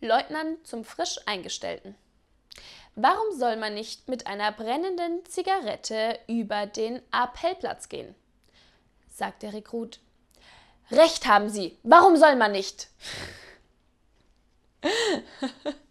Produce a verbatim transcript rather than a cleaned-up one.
Leutnant zum frisch Eingestellten. Warum soll man nicht mit einer brennenden Zigarette über den Appellplatz gehen? Sagt der Rekrut. Recht haben Sie, warum soll man nicht?